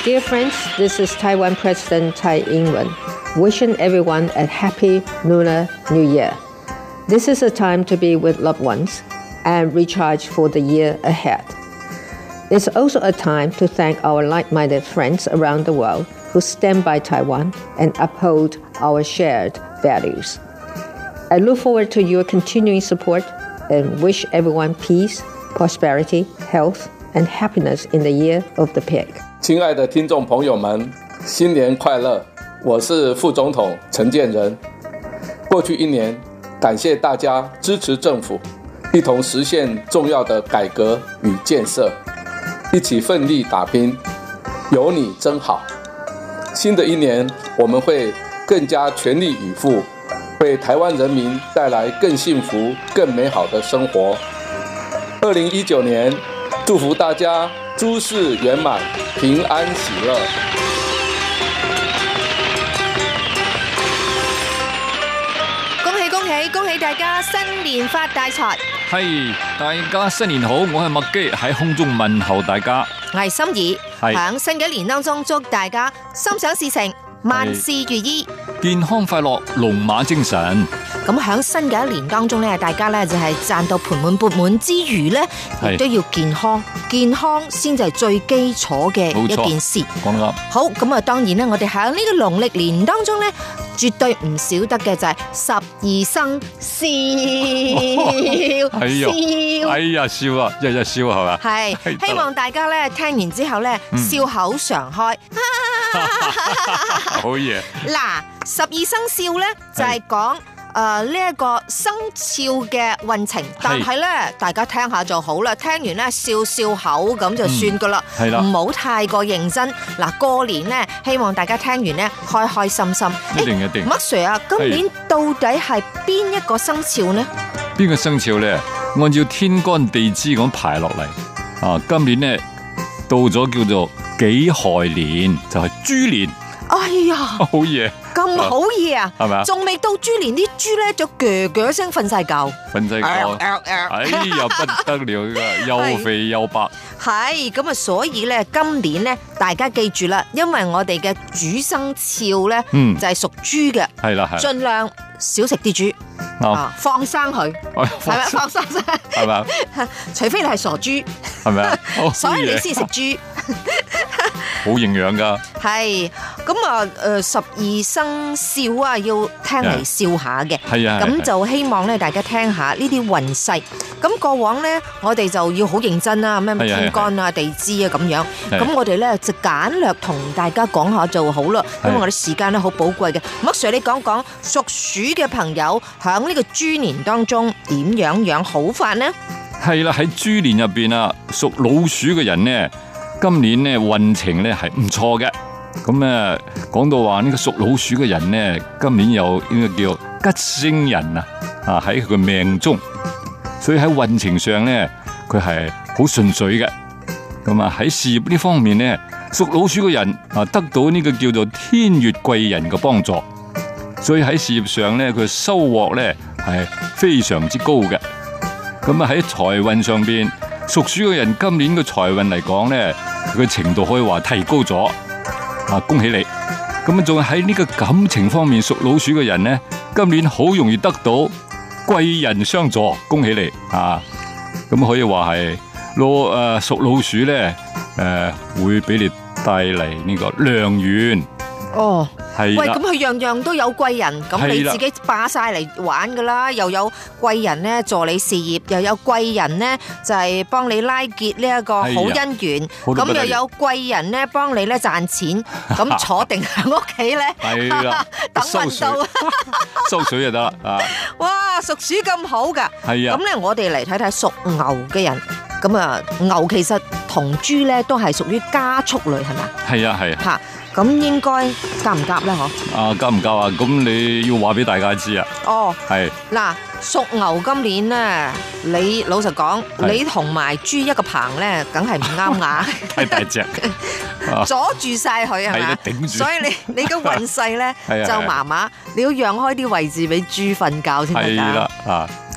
Dear friends, this is Taiwan President Tsai Ing-wen, wishing everyone a happy Lunar New Year. This is a time to be with loved ones and recharge for the year ahead. It's also a time to thank our like-minded friends around the world who stand by Taiwan and uphold our shared values. I look forward to your continuing support and wish everyone peace, prosperity, health, and happiness in the year of the pig. 亲爱的听众朋友们，新年快乐！我是副总统陈建仁。过去一年，感谢大家支持政府，一同实现重要的改革与建设，一起奋力打拼，有你真好。新的一年，我们会更加全力以赴，为台湾人民带来更幸福、更美好的生活。2019年，祝福大家诸事圆满，平安喜樂。 恭喜大家新年發大財！ 係，大家新年好，我係麥基喺空中問候大家。 我係心怡，喺新嘅一年當中祝大家心想事成，萬事如意， 健康快樂，龍馬精神。 咁喺新嘅一年當中咧，大家咧就係賺到盆滿缽滿之餘咧，亦都要健康，健康先至係最基礎嘅一件事。 講得啱。 好，咁啊，當然咧，我哋喺呢個農曆年當中咧，絕對唔少得嘅就係12生肖， 笑啊，日日笑係嘛？ 係，希望大家咧聽完之後咧笑口常開。 好嘢！ 嗱，12生肖咧就係講呢一個生肖嘅運程，但係咧大家聽下就好啦，聽完咧笑笑口咁就算噶啦，唔好太過認真。嗱，過年咧希望大家聽完咧開開心心。 一定。 麥 Sir 啊，今年到底係邊一個生肖呢？ 邊個生肖咧？按照天干地支咁排落嚟，啊，今年咧到咗叫做己亥年，就係豬年。 哎呀， 好嘢！ 咁好嘢啊， 係咪啊？ 仲未到豬年，啲豬咧就鋸鋸聲瞓晒覺， 哎呀不得了噶，又肥又白。 係咁啊，所以咧今年咧大家記住啦，因為我哋嘅主生肖咧就係屬豬嘅， 係啦， 盡量少食啲豬，放生佢，係咪放生啫？係咪？除非你係傻豬，係咪啊？所以你先食豬。 好營養噶， 係咁啊！12生肖啊，要聽嚟笑下嘅，咁就希望咧大家聽下呢啲運勢。咁過往咧，我哋就要好認真啦，咩天干啊、地支啊咁樣。咁我哋咧就簡略同大家講下就好啦，因為我哋時間咧好寶貴嘅。麥 Sir， 你講講屬鼠嘅朋友響呢個豬年當中點樣好法呢？ 係啦，喺豬年入邊啊，屬老鼠嘅人呢，今年呢運程呢係唔錯嘅，咁咧講到話呢個屬老鼠嘅人呢，今年有呢個叫吉星人啊喺佢嘅命中，所以喺運程上呢佢係好順遂嘅。咁啊喺事業呢方面呢，屬老鼠嘅人啊得到呢個叫做天月貴人嘅幫助，所以喺事業上呢佢收穫呢係非常之高嘅。咁啊喺財運上邊，屬鼠嘅人今年嘅財運嚟講咧，佢嘅程度可以話提高咗，啊恭喜你！咁啊仲喺呢個感情方面，屬老鼠嘅人咧，今年好容易得到貴人相助，恭喜你啊！咁可以話係屬老鼠咧，會俾你帶嚟呢個良緣。哦，係。喂， 咁佢樣樣都有貴人，咁你自己霸晒嚟玩噶啦，又有貴人咧助你事業，又有貴人咧就係幫你拉結呢一個好姻緣，咁又有貴人咧幫你咧賺錢，咁坐定喺屋企咧， 係啦， 等運到， 收水就得啦啊！ 哇，屬鼠咁好噶， 係啊， 咁咧我哋嚟睇睇屬牛嘅人，咁啊牛其實同豬咧都係屬於家畜類，係咪？係啊係啊。吓。 咁應該夾唔夾咧？嗬？ 啊，夾唔夾啊？咁你要話俾大家知啊。哦，係。嗱， 屬牛今年咧，你老實講，你同埋豬一個棚咧，梗係唔啱牙。 太大隻， 阻住晒佢係咪？頂住。所以你嘅運勢咧就麻麻，你要讓開啲位置俾豬瞓覺先得㗎。係啦，啊。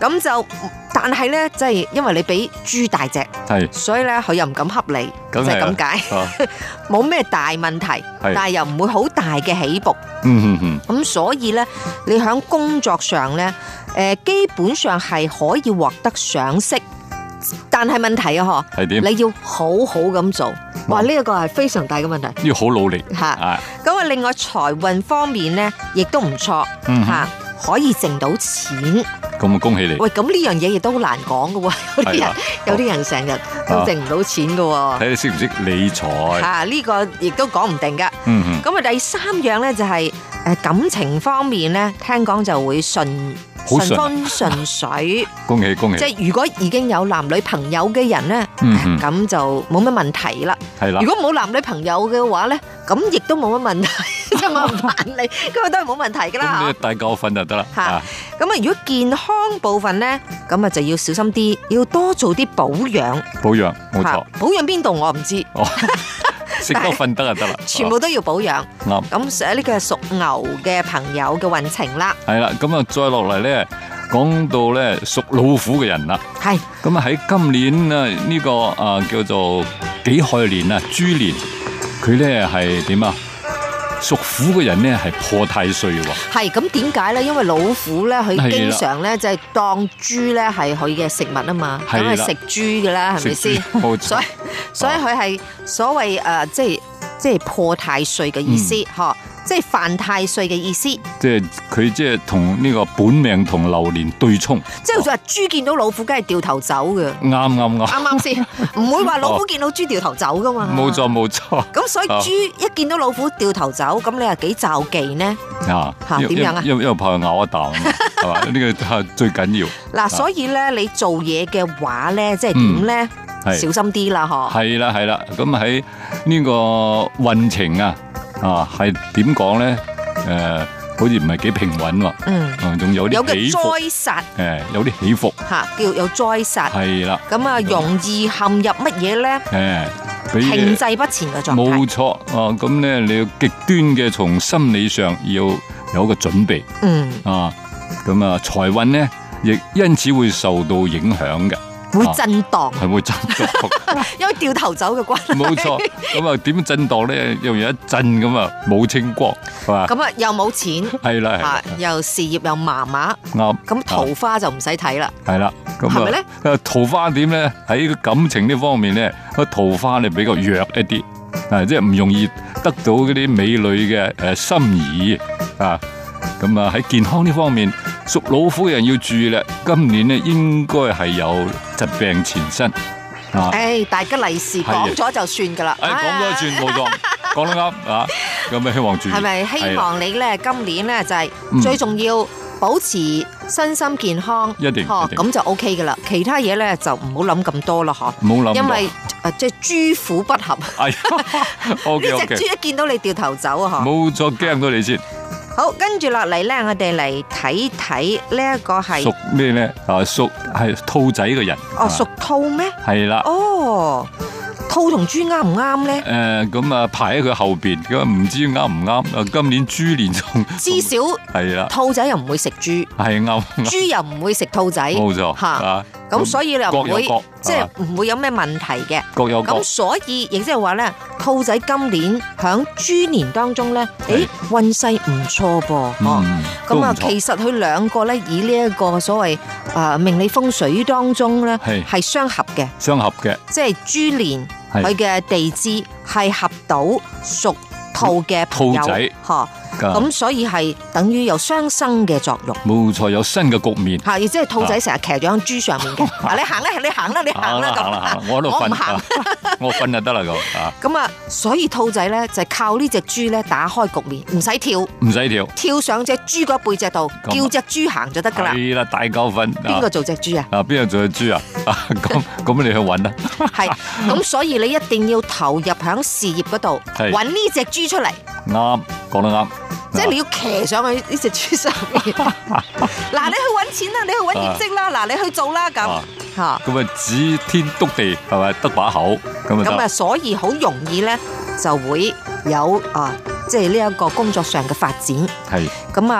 咁就但係咧，即係因為你比豬大隻，所以咧佢又唔敢恰你，就係咁解，冇咩大問題，但係又唔會好大嘅起伏。咁所以咧，你喺工作上咧，基本上係可以獲得賞識。但係問題啊，係點？你要好好咁做，哇！呢一個係非常大嘅問題， 要好努力吓。咁啊，另外財運方面咧，亦都唔錯吓，可以剩到錢。 咁啊，恭喜你！ 喂，咁呢樣嘢亦都好難講嘅喎，有啲人成日都剩唔到錢嘅喎。 睇你識唔識理財吓，呢個亦都講唔定噶。咁啊，第三樣咧就係感情方面咧，聽講就會順風順水， 恭喜恭喜！ 即係如果已經有男女朋友嘅人咧，咁就冇乜問題啦。係啦，如果冇男女朋友嘅話咧，咁亦都冇乜問題，即係我唔煩你，咁都係冇問題噶啦。 咁你大覺瞓就得啦。 吓，咁啊，如果健康部分咧，咁啊就要小心啲，要多做啲保養。 保養冇錯， 保養邊度我唔知。 食得瞓得就得啦， 全部都要保養。 啱。 咁寫呢個係屬牛嘅朋友嘅運程啦。 係啦，咁啊再落嚟咧，講到咧屬老虎嘅人啦。係。咁啊喺今年啊呢個叫做己亥年啊豬年，佢咧係點啊？屬虎嘅人咧係破太歲喎。係，咁點解咧？因為老虎咧，佢經常咧就係當豬咧係佢嘅食物啊嘛，咁係食豬噶啦，係咪先？冇錯。所以佢係所謂即係破太歲嘅意思，嗬，即係犯太歲嘅意思。即係佢即係同呢個本命同流年對沖。即係好似話豬見到老虎，梗係掉頭走嘅。啱先，唔會話老虎見到豬掉頭走噶嘛。冇錯冇錯。咁所以豬一見到老虎掉頭走，咁你係幾罩忌呢？點樣啊？因為怕佢咬一啖，係嘛？呢個係最緊要。嗱，所以咧，你做嘢嘅話咧，即係點咧？小心啲啦，嗬！係啦，係啦，咁喺呢個運程係點講咧？好似唔係幾平穩喎，仲有啲起伏，有個災煞，有啲起伏，叫有災煞，係啦，咁啊，容易陷入乜嘢咧？停滯不前嘅狀態，冇錯，咁咧你要極端嘅從心理上要有一個準備，咁啊財運咧亦因此會受到影響嘅。會震盪，係會震盪，因為掉頭走嘅關係。冇錯，咁啊點震盪咧？又有一震咁啊，冇清光，係嘛？咁啊又冇錢，係啦，又事業又麻麻，啱。咁桃花就唔使睇啦，係啦，咁係咪咧？桃花點咧？喺感情呢方面咧，個桃花咧比較弱一啲，即係唔容易得到嗰啲美女嘅心儀啊。咁啊喺健康呢方面，屬老虎嘅人要注意啦。今年咧應該係有疾病纏身。大吉利是講咗就算噶啦。講咗算冇錯，講得啱啊！有咩希望注意？係咪希望你咧今年咧就係最重要保持身心健康？一定，咁就 OK 噶啦。其他嘢咧就唔好諗咁多啦，嗬。唔好諗，因為即係豬虎不合。呢隻豬一見到你掉頭走啊！嗬。冇錯，驚到你先。好，跟住落嚟咧，我哋嚟睇睇呢一個係屬咩咧？屬係兔仔嘅人。哦，屬兔咩？係啦。哦，兔同豬啱唔啱咧？咁啊排喺佢後邊，咁唔知啱唔啱？今年豬年仲至少係啦，兔仔又唔會食豬，係啱。豬又唔會食兔仔，冇錯吓。咁所以你又唔會即係唔會有咩問題嘅。各有各。咁所以亦即係話咧，兔仔今年響豬年當中咧，運勢唔錯噃。咁啊，其實佢兩個咧以呢一個所謂命理風水當中咧係相合嘅。相合嘅。即係豬年佢嘅地支係合到屬兔嘅兔仔。咁所以係等於有相生嘅作用，冇錯，有新嘅局面。係，亦即係兔仔成日騎咗喺豬上面嘅。嗱，你行啦，你行啦，你行啦咁。我喺度瞓，我瞓就得啦咁。咁啊，所以兔仔咧就係靠呢隻豬咧打開局面，唔使跳，唔使跳，跳上隻豬嗰背脊度，叫隻豬行就得噶啦。係啦，大夠瞓。邊個做隻豬啊？邊個做隻豬啊？咁你去搵啦。係，咁所以你一定要投入響事業嗰度，搵呢隻豬出嚟。啱，講得啱。即係你要騎上去呢隻豬上面，嗱，你去搵錢啦，你去搵業績啦，嗱，你去做啦咁吓。咁啊，指天篤地係咪得把口咁啊？所以好容易咧就會有即係呢一個工作上嘅發展。係咁啊，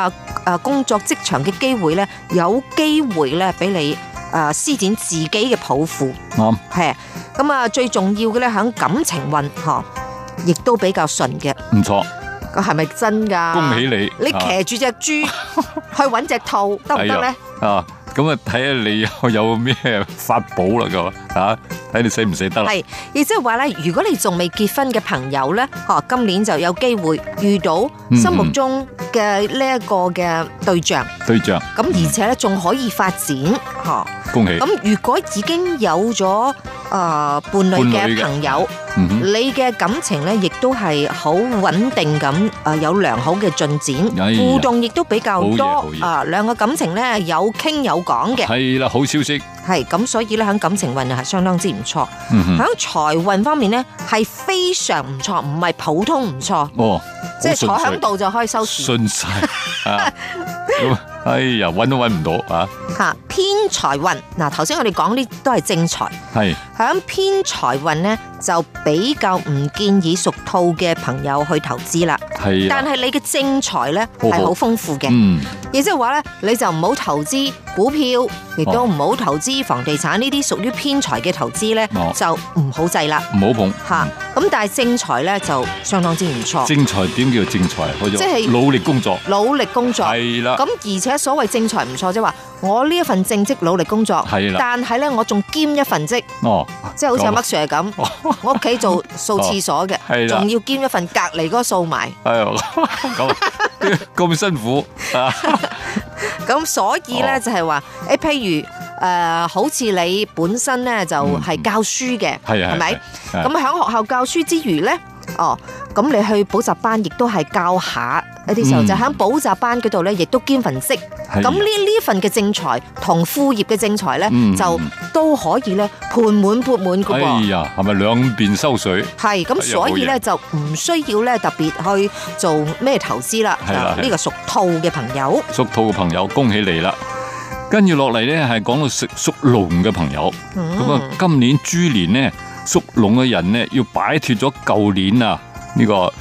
工作職場嘅機會咧，有機會咧俾你施展自己嘅抱負。係咁啊，最重要嘅咧喺感情運亦都比較順嘅。 唔錯。 係咪真噶？ 恭喜你！ 你騎住隻豬去搵隻兔得唔得咧？ 咁啊，睇下你有咩法寶啦，咁睇你死唔死得啦。係， 亦即係話咧，如果你仲未結婚嘅朋友咧，今年就有機會遇到心目中嘅呢一個嘅對象。咁而且咧仲可以發展， 恭喜！ 咁如果已經有咗伴侶嘅朋友，你嘅感情咧亦都係好穩定咁，有良好嘅進展，互動亦都比較多，兩個感情咧有傾有講嘅。係啦， 好消息。 係咁，所以咧喺感情運係相當之唔錯。喺財運方面咧係非常唔錯，唔係普通唔錯。即係坐喺度就可以收視。順晒哎呀，搵都搵唔到偏財運嗱，頭先我哋講呢都係正財。係響偏財運咧，就比較唔建議屬兔嘅朋友去投資啦。係，但係你嘅正財咧係好豐富嘅。亦即係話咧，你就唔好投資股票，亦都唔好投資房地產呢啲屬於偏財嘅投資咧，就唔好制啦， 唔好碰。 咁但係正財咧就相當之唔錯。 正財點叫正財？即係努力工作。努力工作係啦。 咁而且所謂正財唔錯，即係話我呢一份正職努力工作，但係咧我仲兼一份職。即係好似阿麥 Sir 咁，我屋企做掃廁所嘅，仲要兼一份隔籬嗰個掃埋。 咁辛苦咁所以咧就係話譬如好似你本身咧就係教書嘅，係咪？咁喺學校教書之餘咧，咁你去補習班亦都係教下一啲時候，就喺補習班嗰度咧，亦都兼份職。咁呢份嘅正財同副業嘅正財咧，就都可以咧盆滿缽滿噶噃。 哎呀，係咪兩邊收水？ 係咁，所以咧就唔需要咧特別去做咩投資啦。係啦，呢個屬兔嘅朋友， 屬兔嘅朋友，恭喜你啦！跟住落嚟咧，係講到屬龍嘅朋友。咁今年豬年咧，屬龍嘅人咧要擺脫咗舊年呢個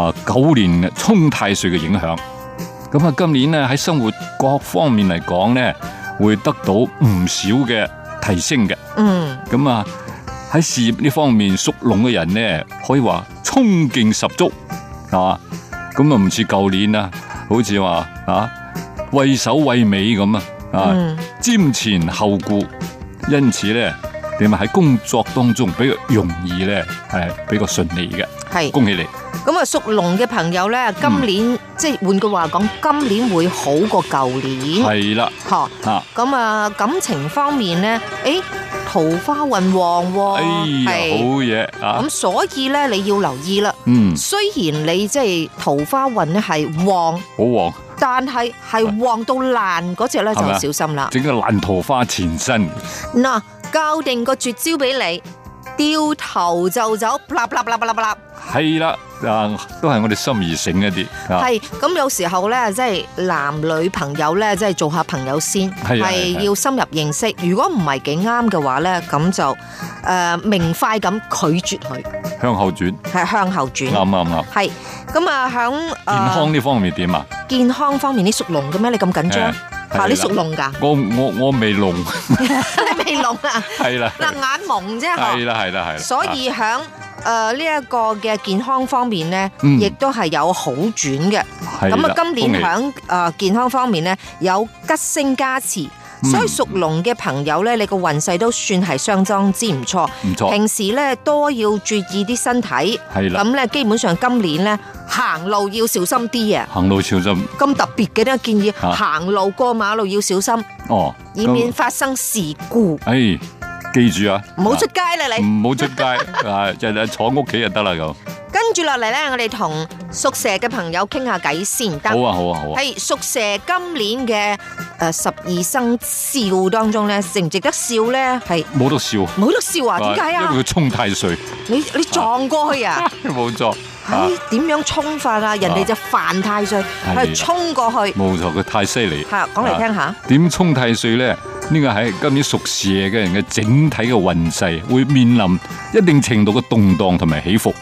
9年沖太歲嘅影響。咁今年咧喺生活各方面嚟講咧，會得到唔少嘅提升嘅。咁喺事業呢方面，屬龍嘅人咧可以話衝勁十足，係嘛？咁唔似舊年好似話畏首畏尾咁瞻前後顧，因此咧點啊喺工作當中比較容易咧係比較順利嘅。係，恭喜你！ 咁屬龍嘅朋友咧，今年即係換句話講，今年會好過舊年。係啦，咁感情方面咧，桃花運旺喎。 好嘢咁所以咧你要留意啦。雖然你即係桃花運咧係旺， 好旺， 但係旺到爛嗰隻咧就小心啦。 整個爛桃花纏身。 嗱，教定個絕招俾你，掉頭就走，啪啪啪啪啪。 係啦，都係我哋心儀醒一啲。 係咁有時候咧，即係男女朋友咧，即係做下朋友先，係要深入認識。如果唔係幾啱嘅話咧，咁就明快咁拒絕佢， 向後轉。 係向後轉。 啱。係咁響健康呢方面點啊？ 健康方面，你屬龍嘅咩？你咁緊張？你屬龍噶？ 我未龍。 你未龍啊？ 係啦。 嗱，眼蒙啫。係啦。 所以響呢一個嘅健康方面咧，亦都係有好轉嘅。咁今年響健康方面咧，有吉星加持，所以屬龍嘅朋友咧，你個運勢都算係相當之唔錯。唔錯。平時咧多要注意啲身體。係啦。咁咧基本上今年咧行路要小心啲啊。行路小心。咁特別嘅咧，建議行路過馬路要小心。以免發生事故。 記住唔好出街啦，你唔好出街就係坐屋企就得啦咁。 跟住落嚟咧，我哋同屬蛇嘅朋友傾下偈先。 好啊。 係屬蛇今年嘅12生肖當中咧，值唔值得笑咧？係冇得笑啊？點解啊？ 因為佢沖太歲。 你撞過去啊？ 冇錯。 點樣沖法啊？人哋就犯太歲，係沖過去。 冇錯，佢太犀利。 係講嚟聽下。 點沖太歲咧？呢個係今年屬蛇嘅人嘅整體嘅運勢會面臨一定程度嘅動盪同埋起伏。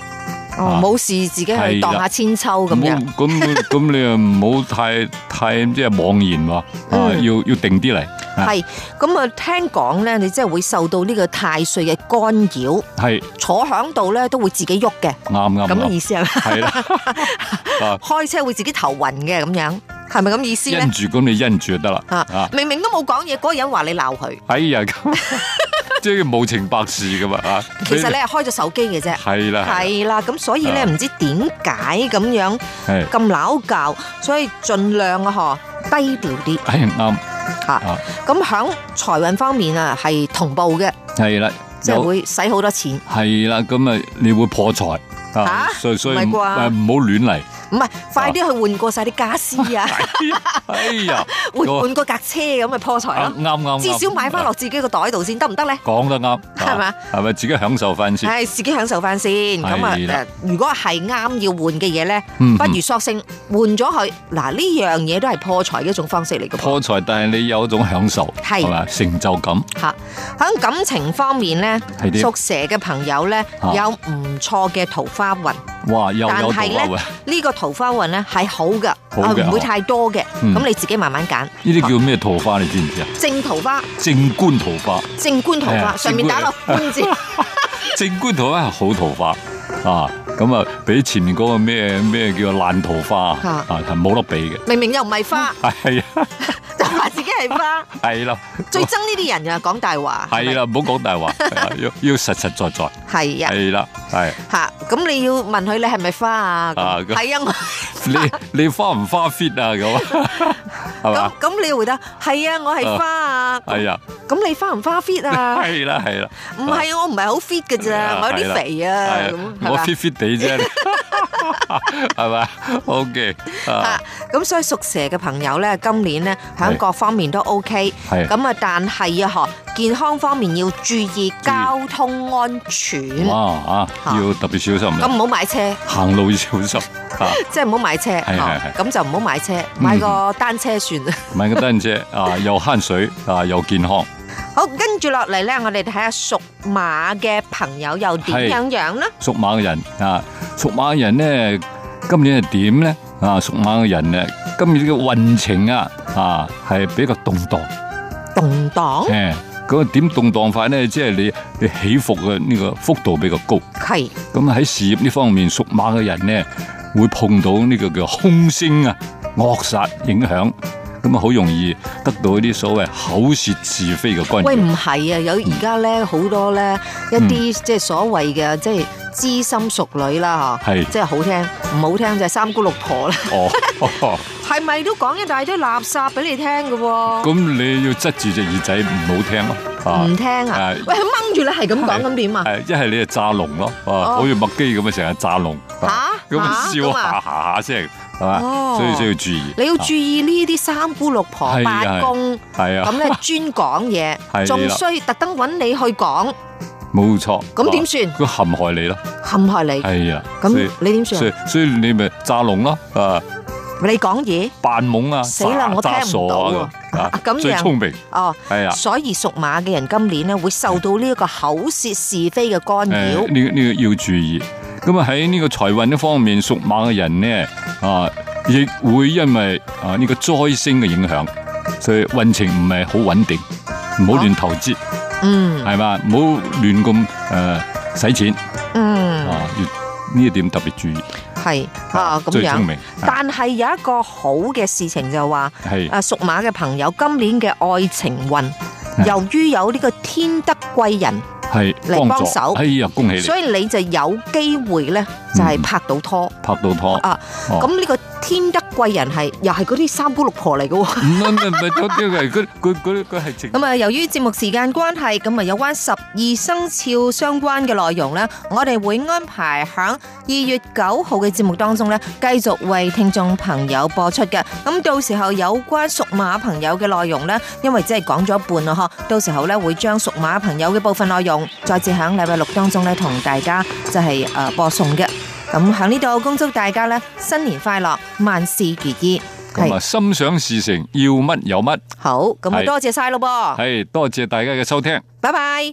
冇事自己去蕩下千秋咁樣。 咁你又唔好太即係妄言喎，要定啲嚟。 係咁啊！聽講咧，你真係會受到呢個太歲嘅干擾，係坐響度咧都會自己喐嘅，啱咁嘅意思係咪？係啦，開車會自己頭暈嘅咁樣，係咪咁意思咧？ 因住咁你因住就得啦。 明明都冇講嘢，嗰個人話你鬧佢。 哎呀，即係無情百事噶嘛啊！ 其實你係開咗手機嘅啫。係啦，咁所以咧唔知點解咁樣咁鬧交，所以盡量低調啲。 係啱。 咁響財運方面啊，係同步嘅，係啦，即係會使好多錢， 係啦，咁啊，你會破財所以唔好亂嚟。 唔係，快啲去換過晒啲家私啊！ 哎呀， 換過架車咁咪破財咯！啱，至少買翻落自己個袋度先，得唔得咧？ 講得啱，係嘛？係咪自己享受翻先？ 係自己享受翻先。咁啊，如果係啱要換嘅嘢咧，不如索性換咗佢。嗱，呢樣嘢都係破財嘅一種方式嚟嘅。破財， 但係你有一種享受，係嘛？成就感。 吓，喺感情方面咧，屬蛇嘅朋友咧有唔錯嘅桃花運。 哇，又有桃花運。 呢個桃花運咧係好噶，唔會太多嘅，咁你自己慢慢揀。 呢啲叫咩桃花？你知唔知啊？ 正桃花， 正官桃花， 正官桃花上面打落官字。 正官桃花係好桃花啊，咁啊比前面嗰個咩叫爛桃花啊係冇得比嘅。 明明又唔係花，係啊，就話自己係花， 係啦。 最憎呢啲人啊，講大話。 係啦，唔好講大話，要實實在在。 係啊， 係啦，係。 吓，咁你要問佢你係咪花啊？係啊， 你花唔花 fit 啊？咁係嘛？ 咁你要回答係啊，我係花啊。係啊。咁你花唔花 fit 啊？ 係啦，係啦。 唔係，我唔係好 fit 㗎咋，我有啲肥啊。 我 fit 地啫，係咪？OK。 咁所以屬蛇嘅朋友咧，今年咧喺各方面都 OK。咁啊，但係啊，健康方面要注意交通安全。 哇要特別小心。 咁唔好買車， 行路要小心。 即係唔好買車。咁就唔好買車，買個單車算啦。 買個單車又慳水又健康。 好，跟住落嚟咧，我哋睇下屬馬嘅朋友又點樣呢？ 屬馬嘅人屬馬嘅人咧，今年係點咧？屬馬嘅人咧，今年嘅運程係比較動盪。 動盪？ 嗰個點動盪法咧，即係你起伏嘅呢個幅度比較高。係。咁喺事業呢方面，屬馬嘅人咧會碰到呢個叫凶星惡煞影響。咁好容易得到一啲所謂口舌是非嘅干擾。喂， 唔係啊，有而家咧好多咧一啲即係所謂嘅即係知心淑女啦，係即係好聽，唔好聽就係三姑六婆啦。係咪都講一大堆垃圾俾你聽嘅？ 咁你要側住隻耳仔唔好聽咯。 唔聽啊？喂，佢掹住你係咁講咁點啊？ 一係你就炸聾咯，好似麥基咁啊，成日炸聾。咁笑下聲。所以需要注意。你要注意呢啲三姑六婆八公，咁咧專講嘢，仲需特登揾你去講。 冇錯。 咁點算？ 佢陷害你咯。 陷害你。係啊。咁你點算？ 所以你咪詐聾咯。 你講嘢。 扮懵啊！ 死啦！我聽唔到啊！咁樣。 最聰明。 係啊。所以屬馬嘅人今年咧會受到呢一個口舌是非嘅干擾。 呢個要注意。咁啊喺呢個財運呢方面，屬馬嘅人呢亦會因為呢個災星嘅影響，所以運程唔係好穩定，唔好亂投資，係嘛，唔好亂咁使錢，要呢一點特別注意。係咁樣，最聰明。 但係有一個好嘅事情就話，屬馬嘅朋友今年嘅愛情運，由於有呢個天德貴人。 係嚟幫手，哎呀，恭喜你！ 所以你就有機會咧，就係拍到拖， 拍到拖啊！ 咁呢個天德貴人又係嗰啲三姑六婆嚟嘅喎。唔係嗰啲係佢係正。 咁啊，由於節目時間關係，咁啊有關12生肖相關嘅內容咧，我哋會安排響2月9號嘅節目當中咧，繼續為聽眾朋友播出嘅。咁到時候有關屬馬朋友嘅內容咧，因為只係講咗一半啦，到時候咧會將屬馬朋友嘅部分內容。再至響禮拜6當中咧，同大家就係播送嘅。咁響呢度恭祝大家咧新年快樂，萬事如意。 咁啊，心想事成，要乜有乜。 好，咁啊多謝晒咯噃。 係，多謝大家嘅收聽。 拜拜。